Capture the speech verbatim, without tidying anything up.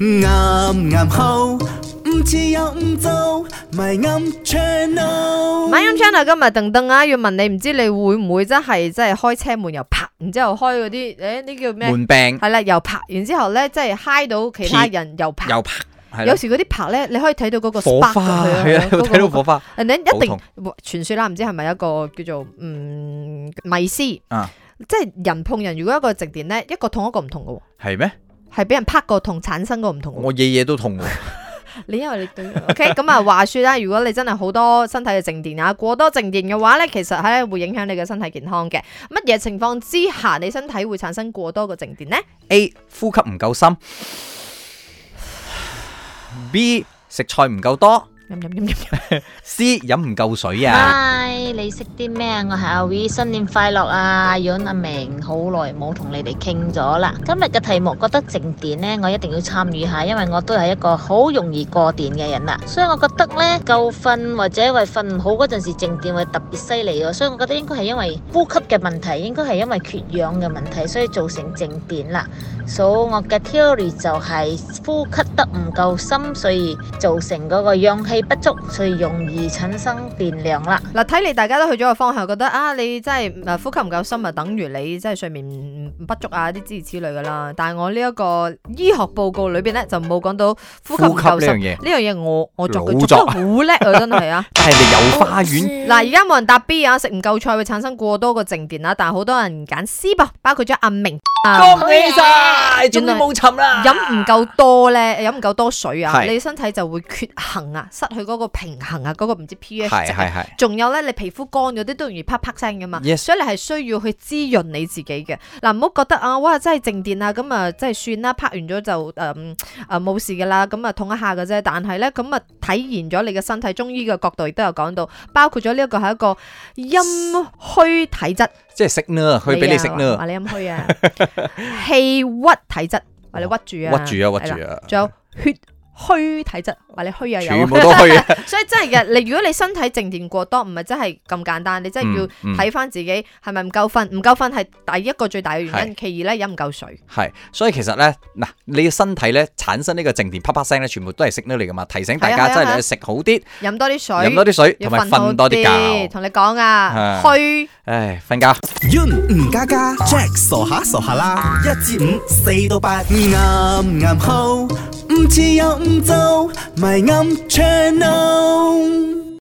啱啱好，唔似又唔做，咪啱 channel。 咪啱 channel 今日鄧鄧啊，要問你，唔知你會唔會真係即係開車門又拍，然之後開嗰啲誒呢叫咩？ 門柄係啦，又拍，然之後咧即係嗨到其他人又拍。 又拍。 有時嗰啲拍咧，你可以睇到嗰個火花，係啊，睇到火花。 人哋一定傳說啦，唔知係咪一個叫做嗯迷思啊？即係人碰人，如果一個靜電咧，一個痛一個唔痛嘅喎。係咩？係俾人拍個痛產生個唔同。 我夜夜都痛喎。 你因為你對 OK 咁啊，話說啦，如果你真係好多身體嘅靜電啊，過多靜電嘅話咧，其實係會影響你嘅身體健康嘅。乜嘢情況之下，你身體會產生過多個靜電呢？ A 呼吸唔夠深。B 食菜唔夠多，C 飲唔夠水啊！ 嗨，你識啲咩啊？我係阿 V， 新年快樂啊！阿潤、阿明，好耐冇同你哋傾咗啦。今日嘅題目覺得靜電呢，我一定要參與下，因為我都係一個好容易過電嘅人啦。所以我覺得呢，夠瞓或者係瞓唔好嗰陣時，靜電會特別犀利嘅。所以我覺得應該係因為呼吸嘅問題，應該係因為缺氧嘅問題，所以造成靜電啦。所以我嘅 theory 就係呼吸得唔夠深，所以造成嗰個氧氣不足，所以容易產生電量啦。 嗱，睇嚟大家都去咗個方向，覺得啊，你真係誒呼吸唔夠深啊，等於你真係睡眠不足啊，啲諸如此類噶啦。但係我呢一個醫學報告裏邊咧，就冇講到呼吸唔夠深呢樣嘢。我我作佢做得好叻啊，真係啊！ 但係你有花園嗱，而家冇人答 B 啊，食唔夠菜會產生過多個靜電啊，但係好多人揀 C 噃，包括咗阿明。 恭喜晒，終於冇沉啦！ 飲唔夠多咧，飲唔夠多水啊， 是你身體就會缺衡啊，失去嗰個平衡啊，嗰、嗰個唔知 pH 值。 係係仲有咧，你皮膚乾嗰啲都容易啪啪聲噶嘛。 Yes. 所以你係需要去滋潤你自己嘅。嗱，唔好覺得啊，哇，真係靜電啊，咁啊，真係算啦，拍完咗就誒誒冇事噶啦，咁啊痛一下嘅啫。但係咧，咁啊體現咗你嘅身體，中醫嘅角度亦都有講到，包括咗呢一個係一個陰虛體質。 即係食呢，佢俾你食呢， 話你陰虛啊，氣鬱體質，話你屈住啊， 屈住啊，屈住啊， 仲有血虛體質，話你虛啊， 全部都虛啊， 所以真係嘅，你如果你身體靜電過多，唔係真係咁簡單，你真係要睇翻自己係咪唔夠瞓，唔夠瞓係第一個最大嘅原因，其二咧飲唔夠水。 係，所以其實咧嗱，你嘅身體咧產生呢個靜電啪啪聲咧，全部都係息呢嚟噶嘛，提醒大家真係你食好啲， 飲多啲水， 飲多啲水，同埋瞓多啲覺。 同你講啊，虛， 唉，瞓覺。 唔加加 Jack 傻下傻下啦，一至五四到八，啱啱好，唔似又唔做，咪啱 channel。